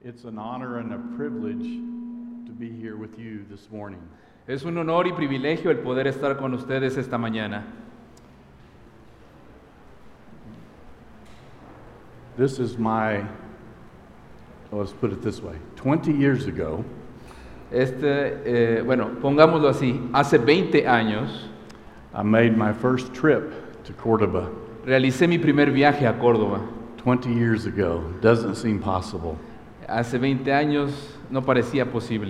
It's an honor and a privilege to be here with you this morning. Es un honor y privilegio el poder estar con ustedes esta mañana. This is let's put it this way, 20 years ago, Pongámoslo así, hace 20 años I made my first trip to Cordoba. realicé mi primer viaje a Córdoba. 20 years ago, doesn't seem possible. Hace 20 años no parecía posible.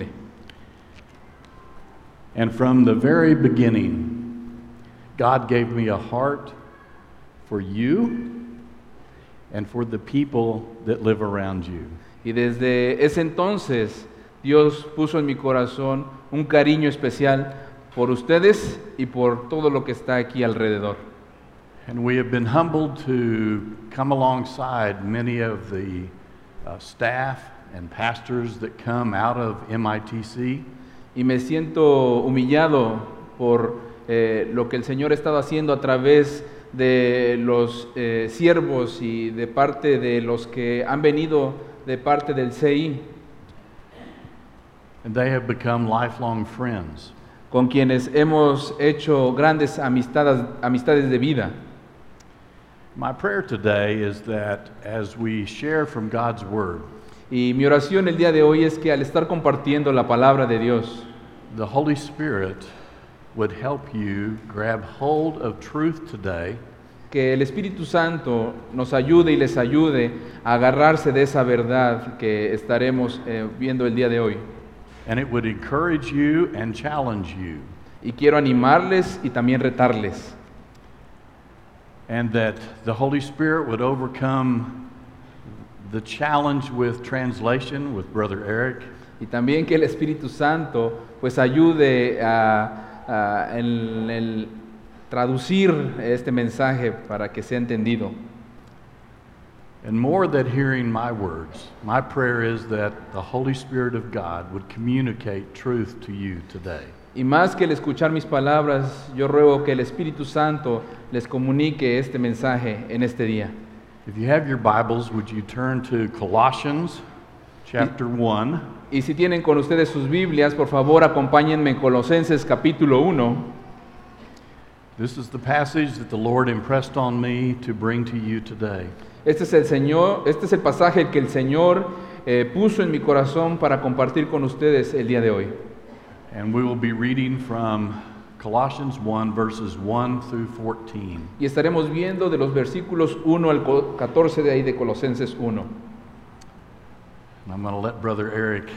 And from the very beginning, God gave me a heart for you and for the people that live around you. Y desde ese entonces, Dios puso en mi corazón un cariño especial por ustedes y por todo lo que está aquí alrededor. And we have been humbled to come alongside many of the staff and pastors that come out of MITC. Y me siento humillado por lo que el Señor ha estado haciendo a través de los siervos y de parte de los que han venido de parte del CI, And they have become lifelong friends. con quienes hemos hecho grandes amistades de vida. My prayer today is that as we share from God's Word, Y mi oración el día de hoy es que al estar compartiendo la palabra de Dios, the Holy Spirit would help you grab hold of truth today que el Espíritu Santo nos ayude y les ayude a agarrarse de esa verdad que estaremos viendo el día de hoy. and it would encourage you and challenge you, Y quiero animarles y también retarles. and that the Holy Spirit would overcome the challenge with translation with Brother Eric, Y también que el Espíritu Santo pues ayude en el traducir este mensaje para que sea entendido. and more than hearing my words. My prayer is that the Holy Spirit of God would communicate truth to you today. Y más que el escuchar mis palabras, yo ruego que el Espíritu Santo les comunique este mensaje en este día. If you have your Bibles, would you turn to Colossians chapter 1? Y si tienen con ustedes sus Biblias, por favor acompáñenme en Colosenses capítulo 1. This is the passage that the Lord impressed on me to bring to you today. Este es el pasaje que el Señor puso en mi corazón para compartir con ustedes el día de hoy. And we will be reading from Colossians 1, verses 1 through 14. Y estaremos viendo de los versículos 1 al 14 de ahí de Colosenses 1. And I'm going to let Brother Eric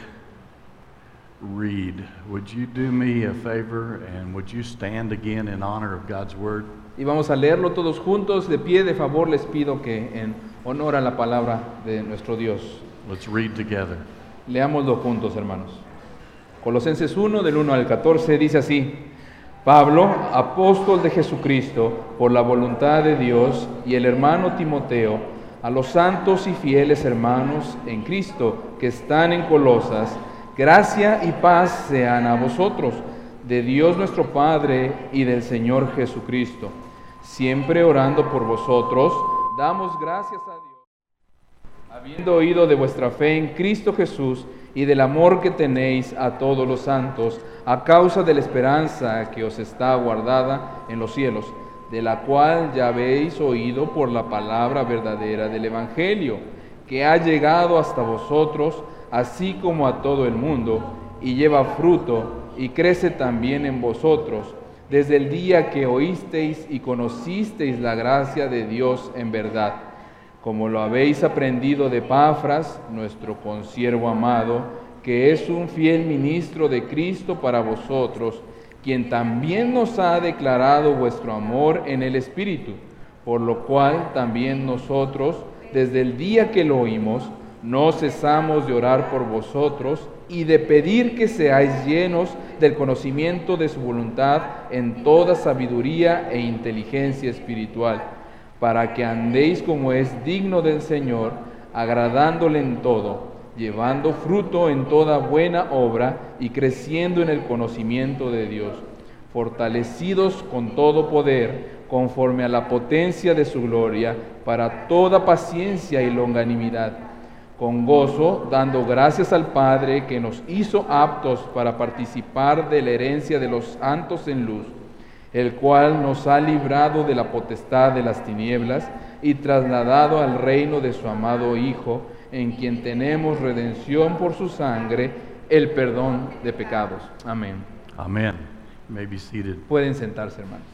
read. Would you do me a favor and would you stand again in honor of God's Word? Y vamos a leerlo todos juntos. De pie, de favor, les pido que en honor a la palabra de nuestro Dios, Let's read together. leámoslo juntos, hermanos. Colosenses 1, del 1 al 14, dice así: Pablo, apóstol de Jesucristo, por la voluntad de Dios, y el hermano Timoteo, a los santos y fieles hermanos en Cristo que están en Colosas, gracia y paz sean a vosotros, de Dios nuestro Padre y del Señor Jesucristo. Siempre orando por vosotros, damos gracias a Dios, habiendo oído de vuestra fe en Cristo Jesús y del amor que tenéis a todos los santos, a causa de la esperanza que os está guardada en los cielos, de la cual ya habéis oído por la palabra verdadera del Evangelio, que ha llegado hasta vosotros, así como a todo el mundo, y lleva fruto, y crece también en vosotros, desde el día que oísteis y conocisteis la gracia de Dios en verdad, como lo habéis aprendido de Epafras, nuestro consiervo amado, que es un fiel ministro de Cristo para vosotros, quien también nos ha declarado vuestro amor en el Espíritu, por lo cual también nosotros, desde el día que lo oímos, no cesamos de orar por vosotros y de pedir que seáis llenos del conocimiento de su voluntad en toda sabiduría e inteligencia espiritual, para que andéis como es digno del Señor, agradándole en todo, llevando fruto en toda buena obra y creciendo en el conocimiento de Dios, fortalecidos con todo poder, conforme a la potencia de su gloria, para toda paciencia y longanimidad, con gozo, dando gracias al Padre que nos hizo aptos para participar de la herencia de los santos en luz, el cual nos ha librado de la potestad de las tinieblas y trasladado al reino de su amado Hijo, en quien tenemos redención por su sangre, el perdón de pecados. Amén. Amen. You may be seated. Pueden sentarse, hermanos.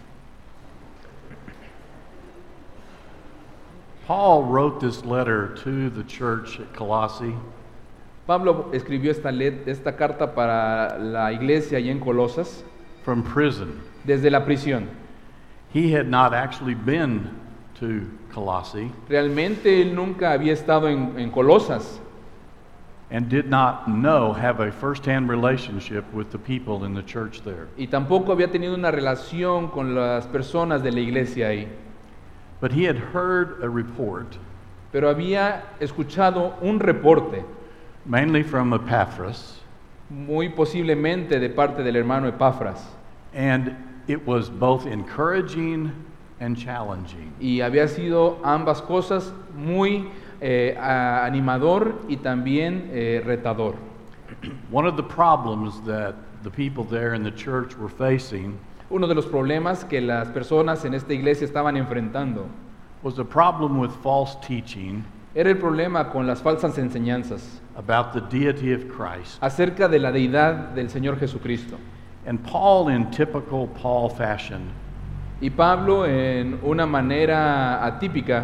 Paul wrote this letter to the church at Colossae Pablo escribió esta carta para la iglesia allá en Colosas from prison. desde la prisión. He had not actually been to Colossae Realmente él nunca había estado en Colosas and did not have a first-hand relationship with the people in the church there. y tampoco había tenido una relación con las personas de la iglesia ahí. But he had heard a report, Pero había escuchado un reporte, mainly from Epaphras, muy posiblemente de parte del hermano Epafras, and it was both encouraging and challenging. y había sido ambas cosas muy animador y también retador. One of the problems that the people there in the church were facing Uno de los problemas que las personas en esta iglesia estaban enfrentando was a problem with false teaching era el problema con las falsas enseñanzas about the deity of Christ. acerca de la deidad del Señor Jesucristo. And Paul, in typical Paul fashion, Y Pablo, en una manera atípica,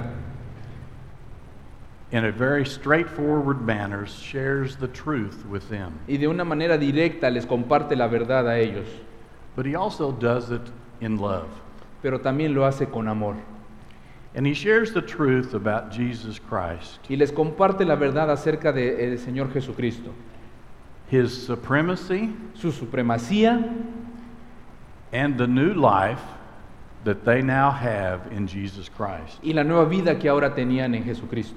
in a very straightforward manner, shares the truth with them. y de una manera directa les comparte la verdad a ellos, But he also does it in love. pero también lo hace con amor. And he shares the truth about Jesus Christ, Y les comparte la verdad acerca del Señor Jesucristo, his supremacy, su supremacía and the new life that they now have in Jesus Christ. y la nueva vida que ahora tenían en Jesucristo.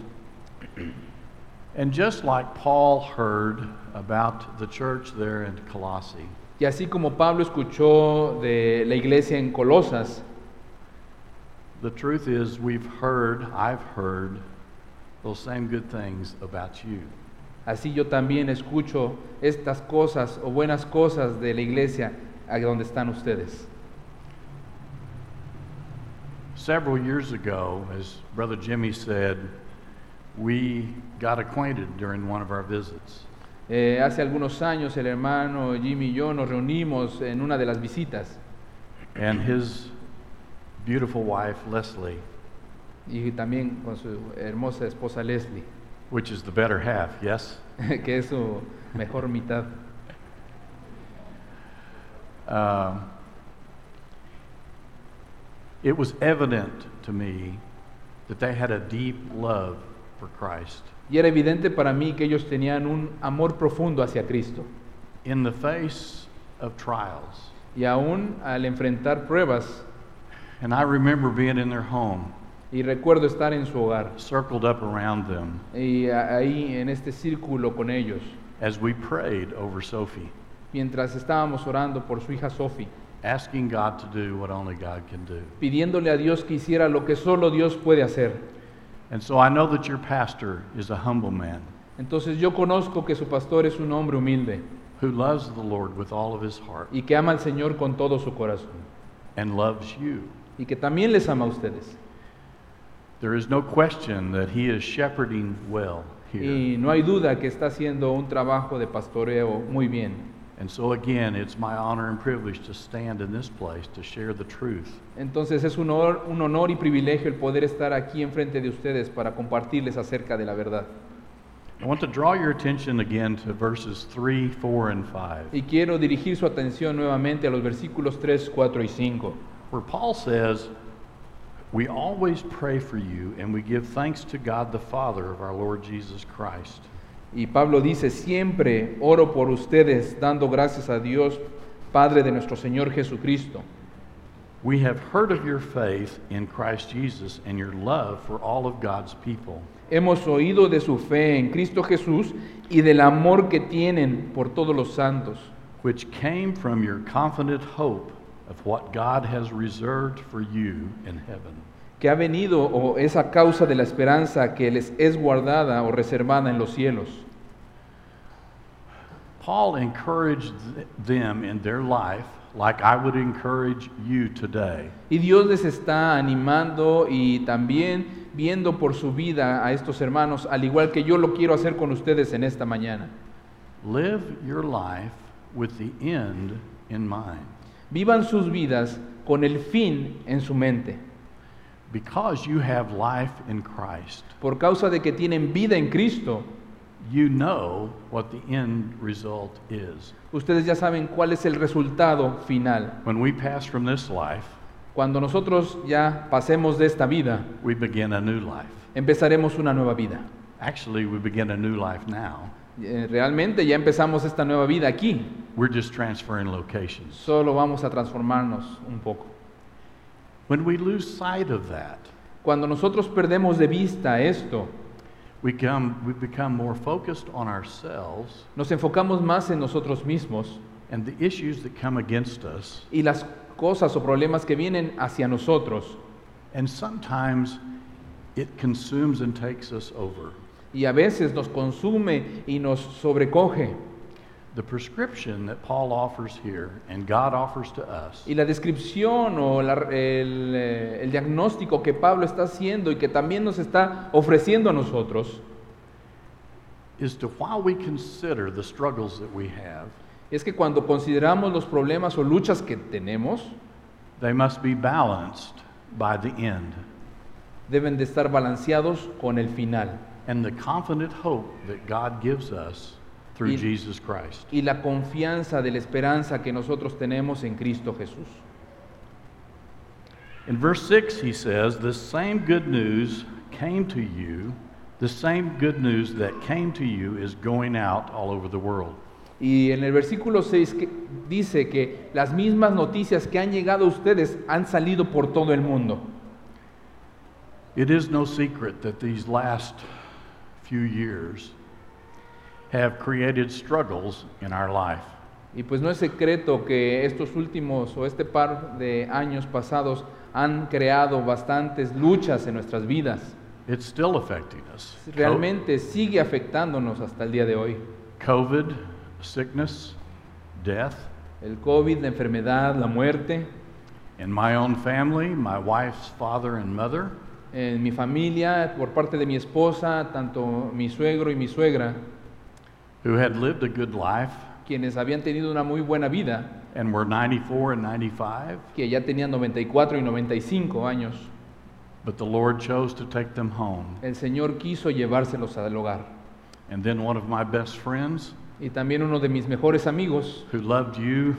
And just like Paul heard about the church there in Colossae, Y así como Pablo escuchó de la iglesia en Colosas, the truth is I've heard those same good things about you. así yo también escucho estas cosas o buenas cosas de la iglesia a donde están ustedes. Several years ago, as Brother Jimmy said, we got acquainted during one of our visits. Hace algunos años el hermano Jimmy y yo nos reunimos en una de las visitas And his beautiful wife, Leslie, y también con su hermosa esposa Leslie, which is the better half, yes? que es su mejor mitad. It was evident to me that they had a deep love for Christ. Y era evidente para mí que ellos tenían un amor profundo hacia Cristo. In the face of trials. Y aún al enfrentar pruebas, And I remember being in their home, y recuerdo estar en su hogar, circled up around them, y ahí en este círculo con ellos, as we prayed over Sophie, mientras estábamos orando por su hija Sophie, asking God to do what only God can do. pidiéndole a Dios que hiciera lo que solo Dios puede hacer. And so I know that your pastor is a humble man Entonces yo conozco que su pastor es un hombre humilde who loves the Lord with all of his heart y que ama al Señor con todo su corazón and loves you. y que también les ama a ustedes. There is no question that he is shepherding well here. Y no hay duda que está haciendo un trabajo de pastoreo muy bien. And so again, it's my honor and privilege to stand in this place to share the truth. Entonces es un honor y privilegio el poder estar aquí enfrente de ustedes para compartirles acerca de la verdad. I want to draw your attention again to verses 3, 4, and 5, Y quiero dirigir su atención nuevamente a los versículos 3, 4 y 5, where Paul says, "We always pray for you, and we give thanks to God the Father of our Lord Jesus Christ." y Pablo dice: siempre oro por ustedes, dando gracias a Dios, Padre de nuestro Señor Jesucristo. We have heard of your faith in Christ Jesus and your love for all of God's people. Hemos oído de su fe en Cristo Jesús y del amor que tienen por todos los santos, which came from your confident hope of what God has reserved for you in heaven. que ha venido o es a causa de la esperanza que les es guardada o reservada en los cielos. Paul encouraged them in their life like I would encourage you today. Y Dios les está animando y también viendo por su vida a estos hermanos, al igual que yo lo quiero hacer con ustedes en esta mañana. Live your life with the end in mind. Vivan sus vidas con el fin en su mente. Because you have life in Christ, Por causa de que tienen vida en Cristo, you know what the end result is. ustedes ya saben cuál es el resultado final. When we pass from this life, Cuando nosotros ya pasemos de esta vida, we begin a new life. empezaremos una nueva vida. Actually, we begin a new life now. Realmente ya empezamos esta nueva vida aquí. We're just transferring locations. Solo vamos a transformarnos un poco. When we lose sight of that, Cuando nosotros perdemos de vista esto, we become more focused on ourselves nos enfocamos más en nosotros mismos and the issues that come against us. y las cosas o problemas que vienen hacia nosotros. And sometimes it consumes and takes us over. Y a veces nos consume y nos sobrecoge. The prescription that Paul offers here and God offers to us Y la descripción o el diagnóstico que Pablo está haciendo y que también nos está ofreciendo a nosotros is to, while we consider the struggles that we have, es que cuando consideramos los problemas o luchas que tenemos, they must be balanced by the end deben de estar balanceados con el final and the confident hope that God gives us through Y- Jesus Christ. y la confianza de la esperanza que nosotros tenemos en Cristo Jesús. In verse 6 he says, the same good news that came to you is going out all over the world. Y en el versículo 6 dice que las mismas noticias que han llegado a ustedes han salido por todo el mundo. It is no secret that these last few years have created struggles in our life. Y pues no es secreto que estos últimos o este par de años pasados han creado bastantes luchas en nuestras vidas. It's still affecting us. Realmente sigue afectándonos hasta el día de hoy. COVID, sickness, death. El COVID, la enfermedad, la muerte. In my own family, my wife's father and mother, En mi familia, por parte de mi esposa, tanto mi suegro y mi suegra, who had lived a good life quienes habían tenido una muy buena vida, and were 94 and 95, que ya tenían 94 y 95 años, but the Lord chose to take them home. el Señor quiso llevárselos al hogar. And then one of my best friends, Y también uno de mis mejores amigos, who loved you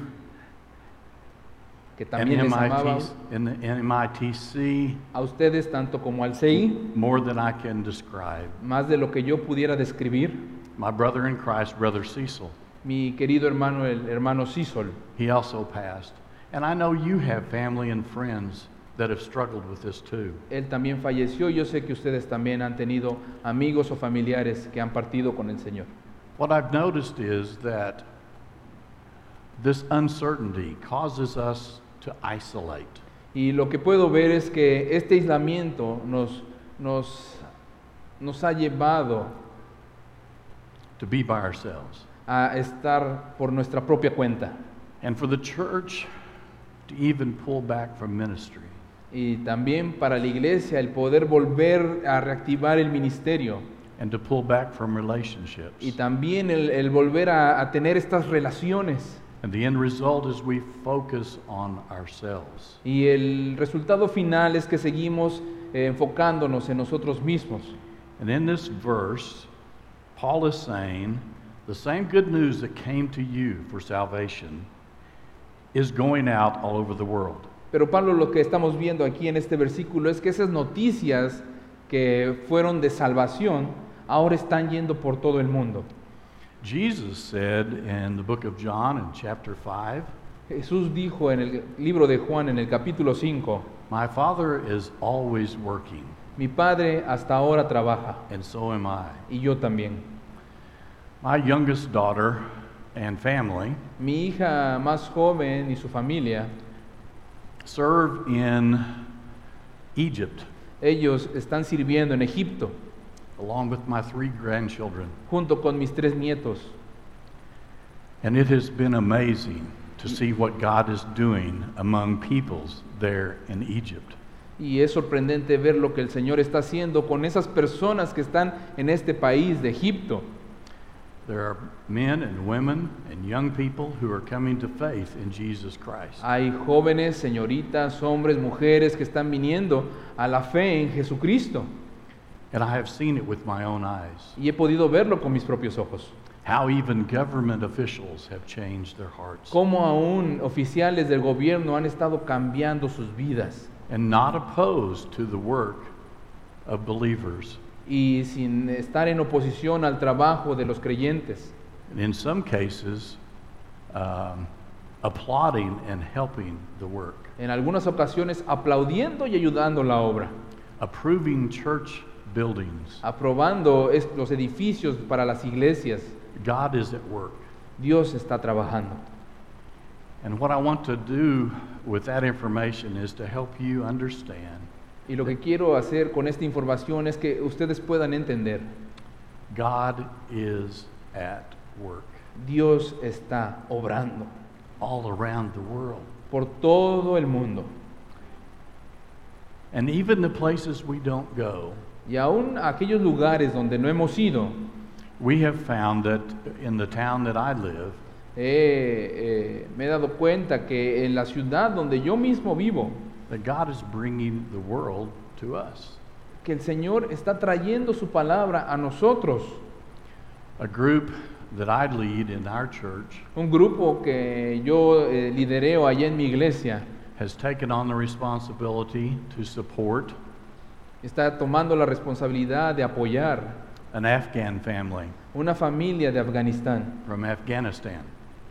que and también les amaba in the MITC a ustedes tanto como al CI, more than I can describe. más de lo que yo pudiera describir, My brother in Christ, Brother Cecil, mi querido hermano, el hermano Sisol. he also passed. And I know you have family and friends that have struggled with this too. Él también falleció. Yo sé que ustedes también han tenido amigos o familiares que han partido con el Señor. What I've noticed is that this uncertainty causes us to isolate. Y lo que puedo ver es que este aislamiento nos ha llevado To be by ourselves. a estar por nuestra propia cuenta. And for the church to even pull back from ministry. Y también para la iglesia el poder volver a reactivar el ministerio. And to pull back from relationships. Y también el volver a tener estas relaciones. And the end result is we focus on ourselves. Y el resultado final es que seguimos enfocándonos en nosotros mismos. And in this verse, Paul is saying the same good news that came to you for salvation is going out all over the world. Pero Pablo, lo que estamos viendo aquí en este versículo es que esas noticias que fueron de salvación ahora están yendo por todo el mundo. Jesus said in the book of John in chapter 5, Jesús dijo en el libro de Juan en el capítulo 5, my Father is always working, mi Padre hasta ahora trabaja and so am I. y yo también. My youngest daughter and family Mi hija más joven y su familia serve in Egypt, Ellos están sirviendo en Egipto, along with my 3 grandchildren. junto con mis 3 nietos. And it has been amazing to see what God is doing among peoples there in Egypt. Y es sorprendente ver lo que el Señor está haciendo con esas personas que están en este país de Egipto. There are men and women and young people who are coming to faith in Jesus Christ. Hay jóvenes, señoritas, hombres, mujeres que están viniendo a la fe en Jesucristo. And I have seen it with my own eyes. Y he podido verlo con mis propios ojos. How even government officials have changed their hearts. Cómo aún oficiales del gobierno han estado cambiando sus vidas. And not opposed to the work of believers. Y sin estar en oposición al trabajo de los creyentes. And in some cases, applauding and helping the work. En algunas ocasiones aplaudiendo y ayudando la obra. Approving church buildings. Aprobando los edificios para las iglesias. God is at work. Dios está trabajando. And what I want to do with that information is to help you understand. Y lo que quiero hacer con esta información es que ustedes puedan entender. God is at work. Dios está obrando All around the world. por todo el mundo. And even the places we don't go, Y aún aquellos lugares donde no hemos ido, we have found that in the town that I live, me he dado cuenta que en la ciudad donde yo mismo vivo, that God is bringing the world to us. que el Señor está trayendo su palabra a nosotros. A group that I lead in our church Un grupo que yo lidereo allá en mi iglesia has taken on the responsibility to support está tomando la responsabilidad de apoyar an Afghan family una familia de Afganistán. from Afghanistan.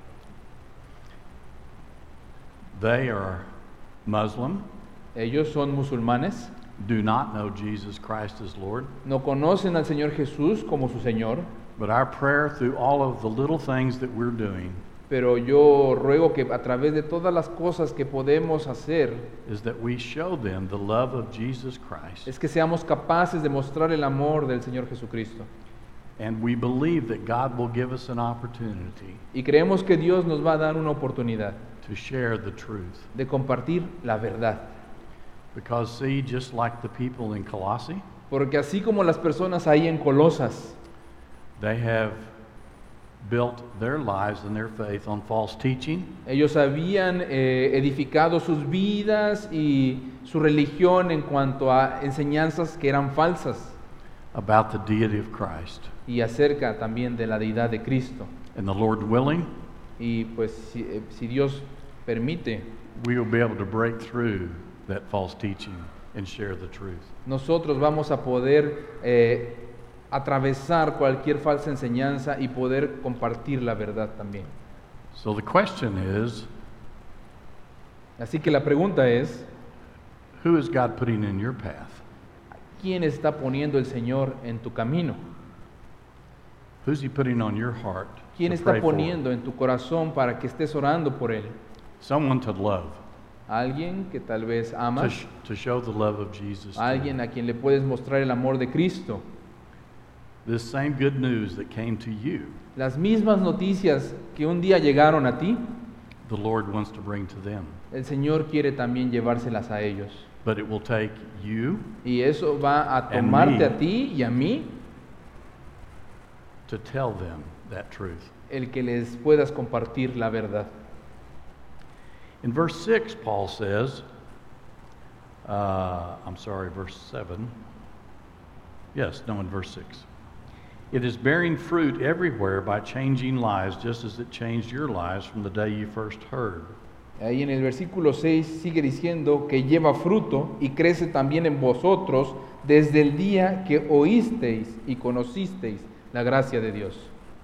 They are Muslim, Ellos son musulmanes, do not know Jesus Christ as Lord, no conocen al Señor Jesús como su Señor, but our prayer through all of the little things that we're doing pero yo ruego que a través de todas las cosas que podemos hacer, is that we show them the love of Jesus Christ. es que seamos capaces de mostrar el amor del Señor Jesucristo. And we believe that God will give us an opportunity Y creemos que Dios nos va a dar una oportunidad to share the truth. de compartir la verdad. Because see, just like the people in Colossae, Porque así como las personas ahí en Colosas, they have built their lives and their faith on false teaching, ellos habían edificado sus vidas y su religión en cuanto a enseñanzas que eran falsas about the deity of Christ. y acerca también de la deidad de Cristo. And the Lord willing, Y pues si Dios permite, we will be able to break through that false teaching and share the truth. nosotros vamos a poder atravesar cualquier falsa enseñanza y poder compartir la verdad también. So the question is, Así que la pregunta es, who is God putting in your path? ¿quién está poniendo el Señor en tu camino? Who's He putting on your heart ¿Quién to está pray for? poniendo en tu corazón para que estés orando por Él? Someone to love, Alguien que tal vez to, amas, to show the love of Jesus to. alguien a quien le puedes mostrar el amor de Cristo. This same good news that came to you, Las mismas noticias que un día llegaron a ti, the Lord wants to bring to them. el Señor quiere también llevárselas a ellos. But it will take you Y eso va a And tomarte me. a ti y a mí, to tell them that truth. el que les puedas compartir la verdad. In verse 6, Paul says, verse 7. Yes, no, in verse 6. It is bearing fruit everywhere by changing lives, just as it changed your lives from the day you first heard. Ahí en el versículo 6 sigue diciendo que lleva fruto y crece también en vosotros desde el día que oísteis y conocisteis la gracia de Dios.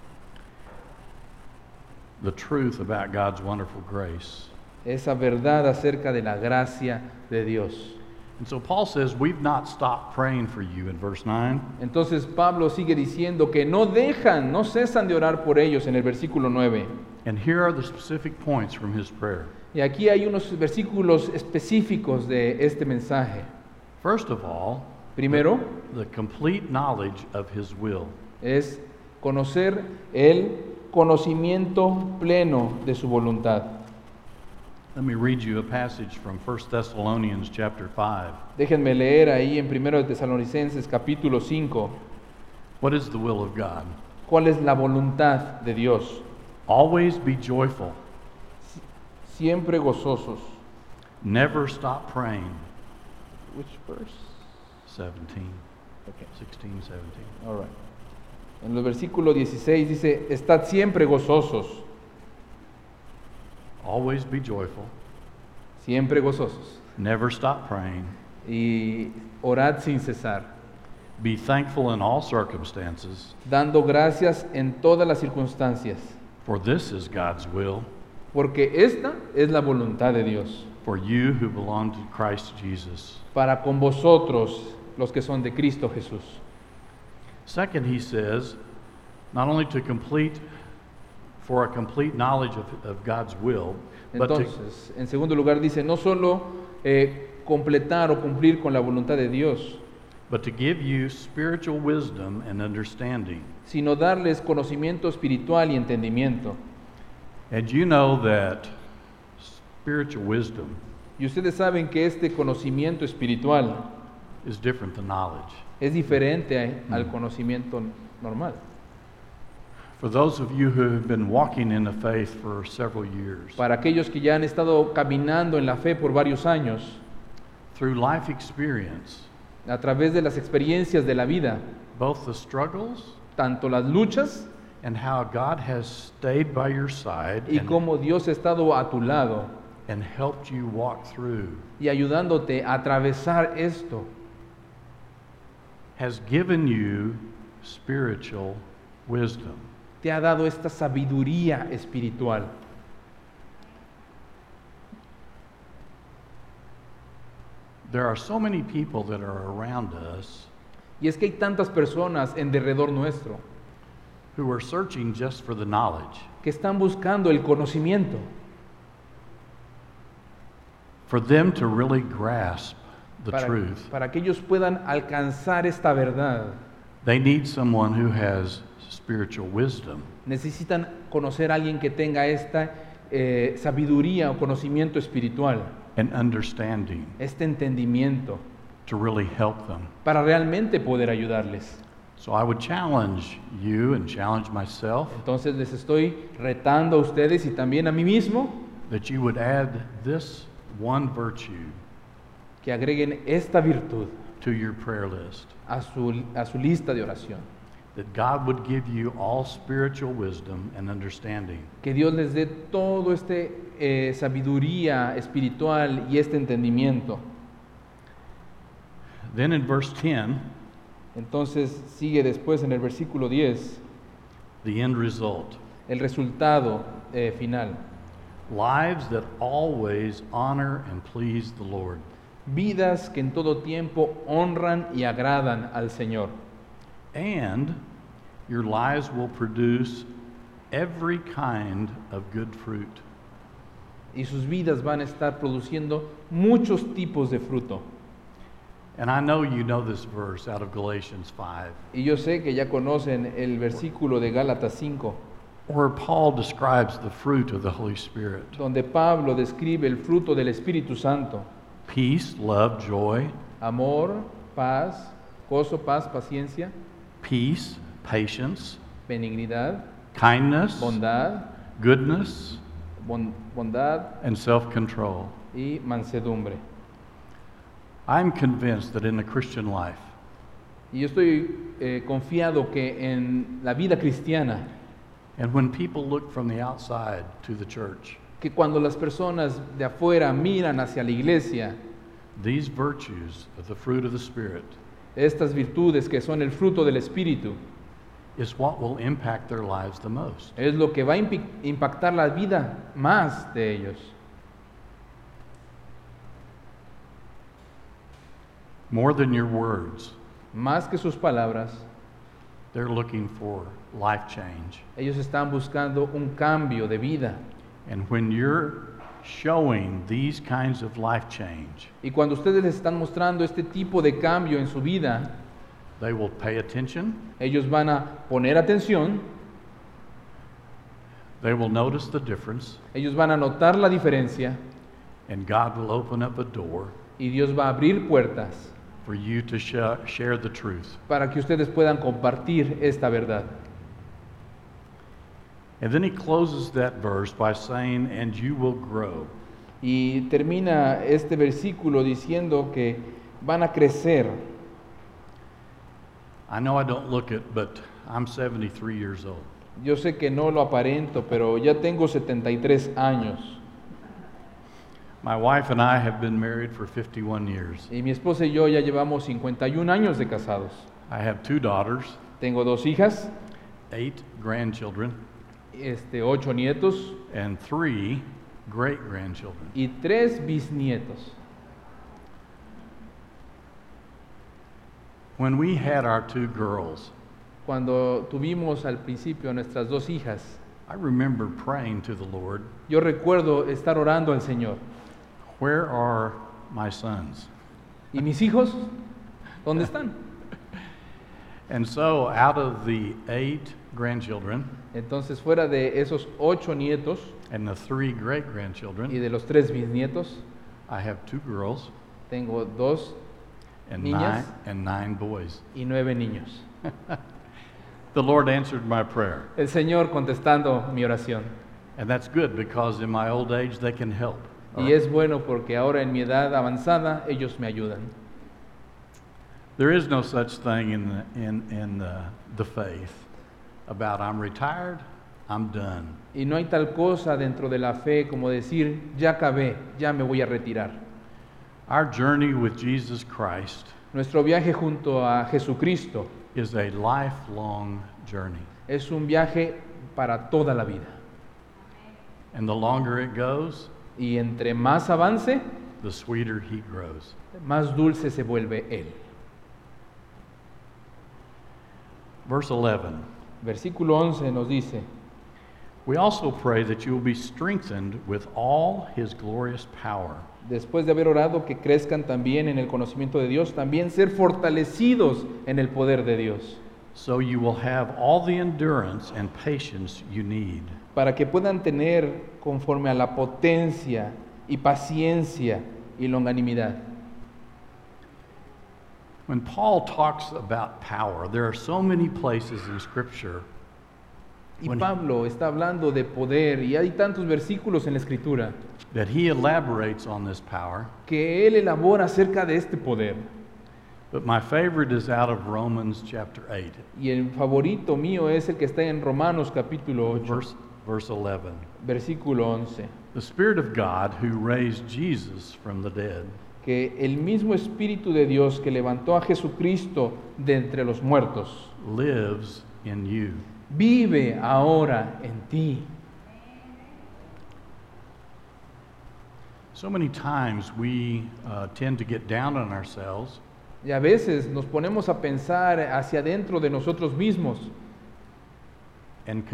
The truth about God's wonderful grace. Esa verdad acerca de la gracia de Dios. And so Paul says, we've not stopped praying for you in verse 9. Entonces Pablo sigue diciendo que no cesan de orar por ellos en el versículo 9. And here are the specific points from his prayer. Y aquí hay unos versículos específicos de este mensaje. First of all, Primero, the complete knowledge of His will. es conocer el conocimiento pleno de su voluntad. Let me read you a passage from 1 Thessalonians chapter 5. Déjenme leer ahí en 1 de Tesalonicenses capítulo 5, What is the will of God? cuál es la voluntad de Dios. Always be joyful. Siempre gozosos. Never stop praying. Which verse? 17, Okay. 16, 17. All right. En el versículo 16 dice, estad siempre gozosos, Always be joyful. siempre gozosos, Never stop praying. y orad sin cesar, Be thankful in all circumstances, dando gracias en todas las circunstancias, for this is God's will porque esta es la voluntad de Dios, for you who belong to Christ Jesus. para con vosotros los que son de Cristo Jesús. Second, he says, not only to complete, for a complete knowledge of God's will, but to, Entonces, en segundo lugar dice, no solo completar o cumplir con la voluntad de Dios, but to give you spiritual wisdom and understanding. sino darles conocimiento espiritual y entendimiento. And you know that spiritual wisdom Y ustedes saben que este conocimiento espiritual is different than knowledge. es diferente al conocimiento normal. For those of you who have been walking in the faith for several years, Para aquellos que ya han estado caminando en la fe por varios años, through life experience, a través de las experiencias de la vida, both the struggles tanto las luchas and how God has stayed by your side y cómo Dios ha estado a tu lado and helped you walk through, y ayudándote a atravesar esto, has given you spiritual wisdom. te ha dado esta sabiduría espiritual. There are so many people that are around us Y es que hay tantas personas en derredor nuestro who are searching just for the knowledge, que están buscando el conocimiento for them to really grasp the truth. para que ellos puedan alcanzar esta verdad. They need someone who has spiritual wisdom. Necesitan conocer a alguien que tenga esta sabiduría o conocimiento espiritual, And understanding este entendimiento, to really help them. para realmente poder ayudarles. So I would challenge you and challenge myself Entonces les estoy retando a ustedes y también a mí mismo that you would add this one virtue que agreguen esta virtud to your prayer list. a su lista de oración. That God would give you all spiritual wisdom and understanding. Que Dios les dé todo este sabiduría espiritual y este entendimiento. Then in verse 10, Entonces sigue después en el versículo 10 the end result. el resultado final. Lives that always honor and please the Lord. Vidas que en todo tiempo honran y agradan al Señor. And your lives will produce every kind of good fruit. Y sus vidas van a estar produciendo muchos tipos de fruto. And I know you know this verse out of Galatians 5, Y yo sé que ya conocen el versículo de Gálatas 5, where Paul describes the fruit of the Holy Spirit. donde Pablo describe el fruto del Espíritu Santo: Peace, love, joy, amor, paz, gozo, paz, paciencia, peace, patience, benignidad, kindness, bondad, goodness, bondad and self-control. y mansedumbre. I'm convinced that in the Christian life, Y yo estoy confiado que en la vida cristiana, and when people look from the outside to the church, que cuando las personas de afuera miran hacia la iglesia, these virtues of the fruit of the Spirit estas virtudes que son el fruto del Espíritu, is what will impact their lives the most. es lo que va a impactar la vida más de ellos. More than your words, Más que sus palabras, they're looking for life change. ellos están buscando un cambio de vida. And when you're showing these kinds of life change, Y cuando ustedes les están mostrando este tipo de cambio en su vida, they will pay attention, ellos van a poner atención, they will notice the difference, ellos van a notar la diferencia and God will open up a door y Dios va a abrir puertas for you to share the truth. para que ustedes puedan compartir esta verdad. And then he closes that verse by saying, and you will grow. Y termina este versículo diciendo que van a crecer. I know I don't look it, but I'm 73 years old. Yo sé que no lo aparento, pero ya tengo 73 años. My wife and I have been married for 51 years. Y mi esposa y yo ya llevamos 51 años de casados. I have 2 daughters, Tengo 2 hijas, 8 grandchildren, 8 nietos and 3 great-grandchildren. y 3 bisnietos. When we had our 2 girls, Cuando tuvimos al principio a nuestras 2 hijas, I remember praying to the Lord, yo recuerdo estar orando al Señor. where are my sons? ¿Y mis hijos? ¿Dónde están? And so out of the 8 grandchildren Entonces, fuera de esos 8 nietos and the 3 y great-grandchildren, de los 3 bisnietos, I have 2 girls tengo 2 and Niñas. 9 boys. y 9 niños. The Lord answered my prayer. El Señor contestando mi oración. And that's good because in my old age they can help. Y es bueno porque ahora en mi edad avanzada ellos me ayudan. There is no such thing in the faith about I'm retired, I'm done. Y no hay tal cosa dentro de la fe como decir, ya acabé, ya me voy a retirar. Our journey with Jesus Christ Nuestro viaje junto a Jesucristo is a lifelong journey. es un viaje para toda la vida. And the longer it goes, Y entre más avance, the sweeter he grows. más dulce se vuelve Él. Verse 11. Versículo 11 nos dice, We also pray that you will be strengthened with all his glorious power, después de haber orado que crezcan también en el conocimiento de Dios, también ser fortalecidos en el poder de Dios, so you will have all the endurance and patience you need. para que puedan tener conforme a la potencia y paciencia y longanimidad. When Paul talks about power, there are so many places in Scripture Y when Pablo está hablando de poder y hay tantos versículos en la Escritura that he elaborates on this power, que él elabora acerca de este poder. but my favorite is out of Romans chapter 8, Y el favorito mío es el que está en Romanos capítulo 8, verse 11. versículo 11. The Spirit of God who raised Jesus from the dead Que el mismo Espíritu de Dios que levantó a Jesucristo de entre los muertos lives in you. vive ahora en ti. So many times we tend to get down on ourselves Y a veces nos ponemos a pensar hacia adentro de nosotros mismos and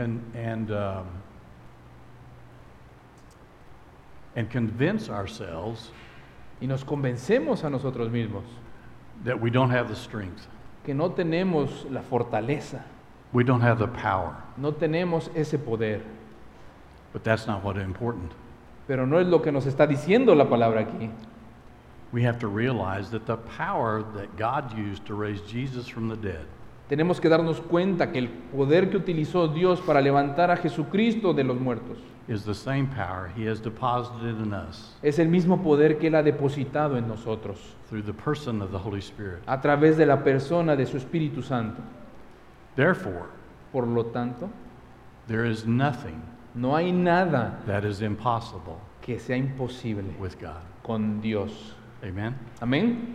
convince ourselves y nos convencemos a nosotros mismos that we don't have the strength, que no tenemos la fortaleza, we don't have the power. no tenemos ese poder. But that's not what's important. Pero no es lo que nos está diciendo la palabra aquí. We have to realize that the power that God used to raise Jesus from the dead Tenemos que darnos cuenta que el poder que utilizó Dios para levantar a Jesucristo de los muertos is the same power he has deposited in us es el mismo poder que Él ha depositado en nosotros through the person of the Holy Spirit. a través de la persona de su Espíritu Santo. Therefore, Por lo tanto, there is nothing no hay nada that is impossible que sea imposible with God. con Dios. Amen? Amén.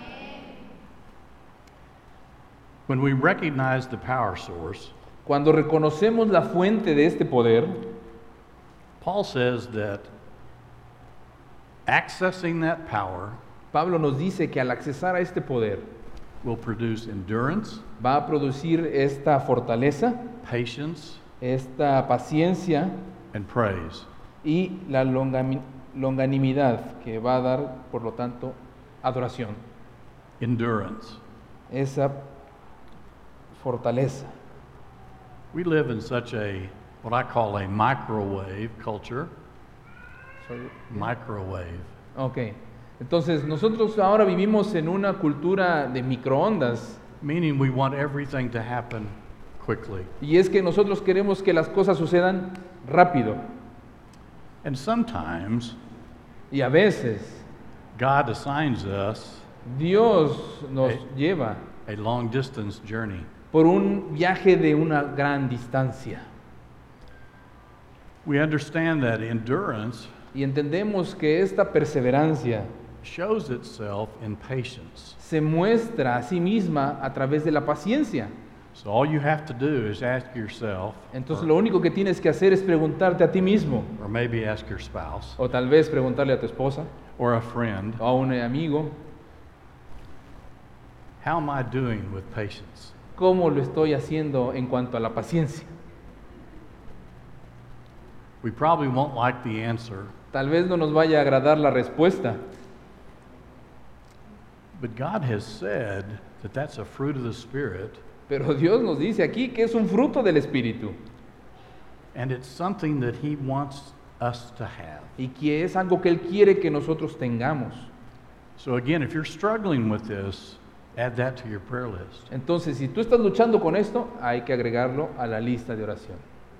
When we recognize the power source, Cuando reconocemos la fuente de este poder, Paul says that accessing that power Pablo nos dice que al accesar a este poder will produce endurance, va a producir esta fortaleza, patience, esta paciencia and praise. y la longanimidad, que va a dar, por lo tanto, adoración, endurance. esa fortaleza. We live in such what I call a microwave culture. Microwave. Ok, entonces nosotros ahora vivimos en una cultura de microondas, Meaning we want everything to happen quickly. y es que nosotros queremos que las cosas sucedan rápido, And sometimes y a veces God assigns us Dios nos lleva a long distance journey. por un viaje de una gran distancia. We understand that endurance Y entendemos que esta perseverancia shows itself in patience. se muestra a sí misma a través de la paciencia. So all you have to do is ask yourself, Entonces lo único que tienes que hacer es preguntarte a ti mismo, or maybe ask your spouse, o tal vez preguntarle a tu esposa, or a friend, o a un amigo, how am I doing with patience? ¿cómo lo estoy haciendo en cuanto a la paciencia? We probably won't like the answer, Tal vez no nos vaya a agradar la respuesta, but God has said that that's a fruit of the Spirit, pero Dios nos dice aquí que es un fruto del Espíritu and it's something that He wants us to have. y que es algo que Él quiere que nosotros tengamos. So again, if you're struggling with this, add that to your prayer list. Entonces, si tú estás luchando con esto, hay que agregarlo a la lista de oración.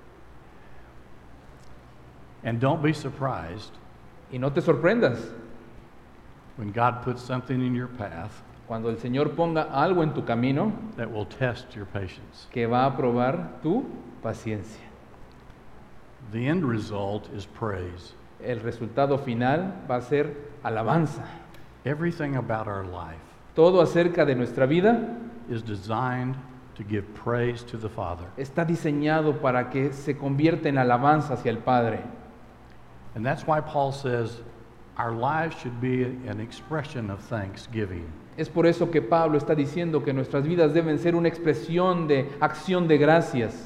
And don't be surprised Y no te sorprendas when God puts something in your path cuando el Señor ponga algo en tu camino that will test your patience. que va a probar tu paciencia. The end result is praise. El resultado final va a ser alabanza. Everything about our life Todo acerca de nuestra vida is designed to give praise to the Father. está diseñado para que se convierta en alabanza hacia el Padre. And that's why Paul says our lives should be an expression of thanksgiving. Es por eso que Pablo está diciendo que nuestras vidas deben ser una expresión de acción de gracias.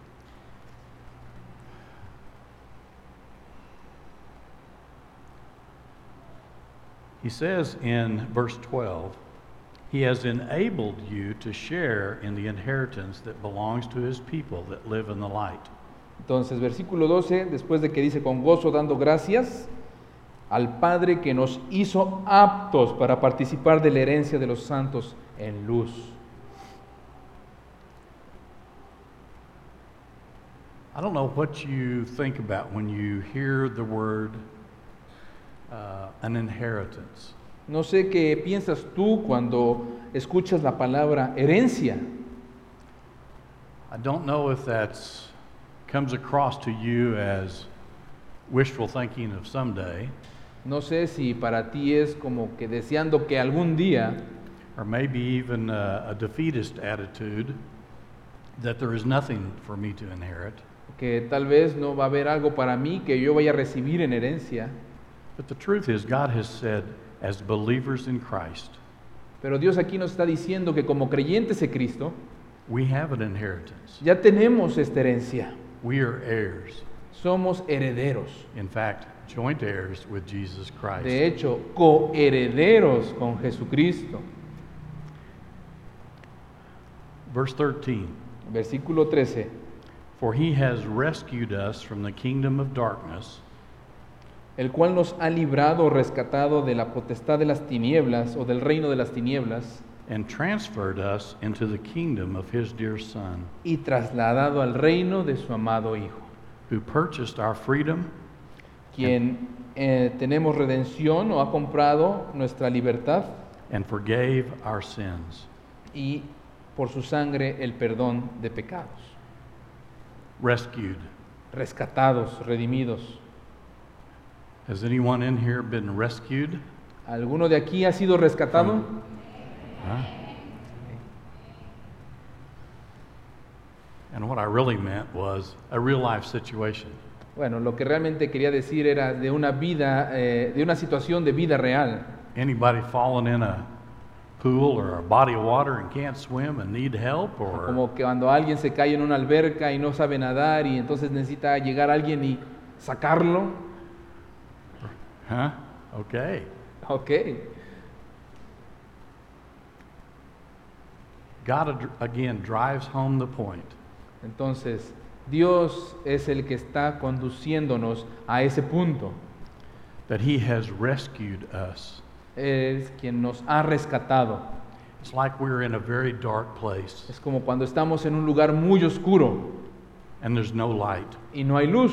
He says in verse 12, He has enabled you to share in the inheritance that belongs to His people that live in the light. Entonces, versículo 12, después de que dice con gozo dando gracias al Padre que nos hizo aptos para participar de la herencia de los santos en luz. I don't know what you think about when you hear the word an inheritance. No sé qué piensas tú cuando escuchas la palabra herencia. I don't know if that's comes across to you as wishful thinking of someday, No sé si para ti es como que deseando que algún día, or maybe even a defeatist attitude that there is nothing for me to inherit. que tal vez no va a haber algo para mí que yo vaya a recibir en herencia. But the truth is, God has said, as believers in Christ, Pero Dios aquí nos está diciendo que como creyentes de Cristo, we have an inheritance. ya tenemos esta herencia. We are heirs. Somos herederos. In fact, joint heirs with Jesus Christ. De hecho, coherederos con Jesucristo. Verse 13, Versículo 13. for He has rescued us from the kingdom of darkness El cual nos ha librado o rescatado de la potestad de las tinieblas o del reino de las tinieblas and transferred us into the kingdom of His dear Son, y trasladado al reino de su amado Hijo, who purchased our freedom quien tenemos redención o ha comprado nuestra libertad and forgave our sins. y por su sangre el perdón de pecados. Rescued. Rescatados, redimidos. Has anyone in here been rescued? ¿Alguno de aquí ha sido rescatado? Huh? And what I really meant was a real life situation. Bueno, lo que realmente quería decir era de una vida, de una situación de vida real. Anybody fallen in a pool or a body of water and can't swim and need help, or Como que cuando alguien se cae en una alberca y no sabe nadar y entonces necesita llegar alguien y sacarlo. Huh? Okay. Ok. God again drives home the point. Entonces, Dios es el que está conduciéndonos a ese punto. That he has rescued us. Es quien nos ha rescatado. It's like we're in a very dark place Es como cuando estamos en un lugar muy oscuro and there's no light. y no hay luz.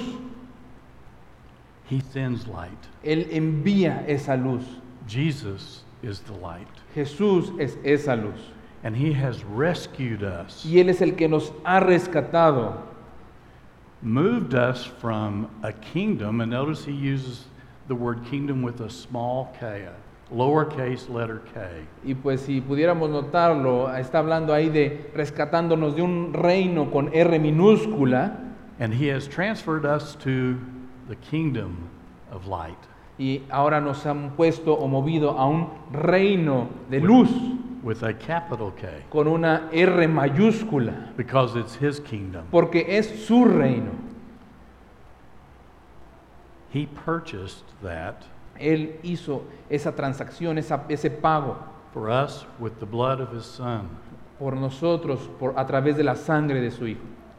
He sends light. Él envía esa luz. Jesus is the light. Jesús es esa luz. And he has rescued us, Y Él es el que nos ha rescatado. moved us from a kingdom, and notice he uses the word kingdom with a small k, lowercase letter k. Y pues si pudiéramos notarlo, está hablando ahí de rescatándonos de un reino con R minúscula. And he has transferred us to the kingdom of light. Y ahora nos han puesto o movido a un reino de luz With a capital K, con una R mayúscula, because it's his kingdom. porque es su reino. He purchased that Él hizo esa transacción, ese pago for us with the blood of his son. por nosotros a través de la sangre de su Hijo.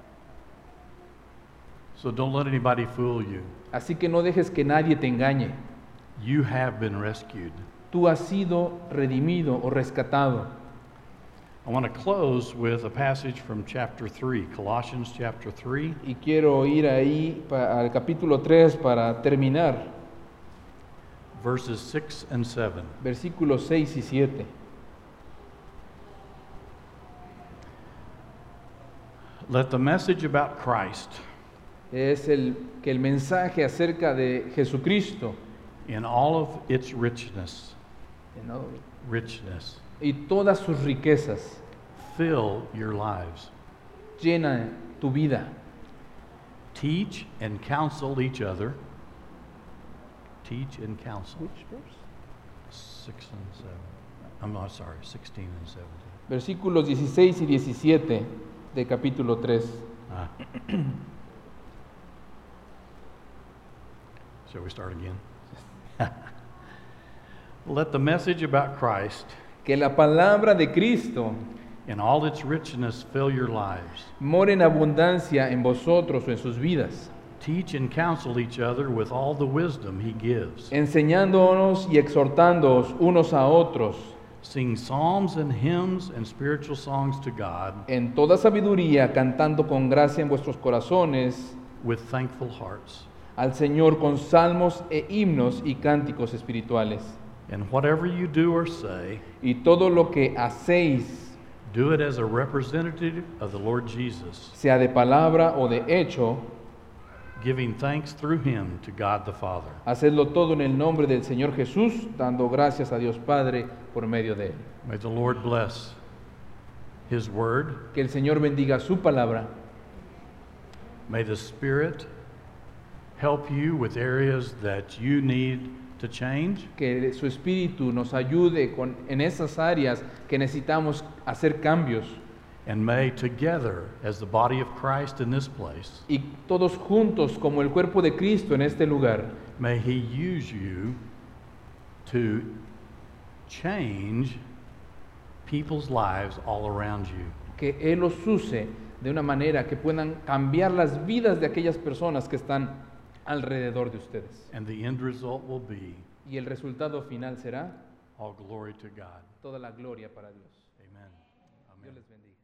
So don't let anybody fool you. Así que no dejes que nadie te engañe. You have been rescued. Tú has sido redimido o rescatado. I want to close with a passage from chapter 3, Colossians chapter 3, Y quiero ir ahí al capítulo 3 para terminar, verses 6 and 7. versículos 6 y 7. Let the message about Christ Es que el mensaje acerca de Jesucristo in all of its richness, ¿no? richness, y todas sus riquezas fill your lives. llena tu vida. Teach and counsel each other. Teach and counsel. 6 and 7. I'm not sorry, 16 and 17. Versículos 16 y 17 de capítulo 3. Ah. Shall we start again? Let the message about Christ Que la palabra de Cristo in all its richness fill your lives. more en abundancia en vosotros o en sus vidas, Teach and counsel each other with all the wisdom he gives. enseñándonos y exhortándoos unos a otros Sing psalms and hymns and spiritual songs to God en toda sabiduría, cantando con gracia en vuestros corazones with thankful hearts. al Señor con salmos e himnos y cánticos espirituales. And whatever you do or say, Y todo lo que hacéis, do it as a representative of the Lord Jesus, sea de palabra o de hecho, giving thanks through him to God the Father. hacedlo todo en el nombre del Señor Jesús, dando gracias a Dios Padre por medio de Él. May the Lord bless his word. Que el Señor bendiga su palabra. May the Spirit help you with areas that you need to change. Que su Espíritu nos ayude en esas áreas que necesitamos hacer cambios. And may together, as the body of Christ in this place, Y todos juntos, como el cuerpo de Cristo en este lugar, may he use you to change people's lives all around you. que Él los use de una manera que puedan cambiar las vidas de aquellas personas que están alrededor de ustedes. And the end result will be Y el resultado final será all glory to God. toda la gloria para Dios. Amen. Dios Amen. les bendiga.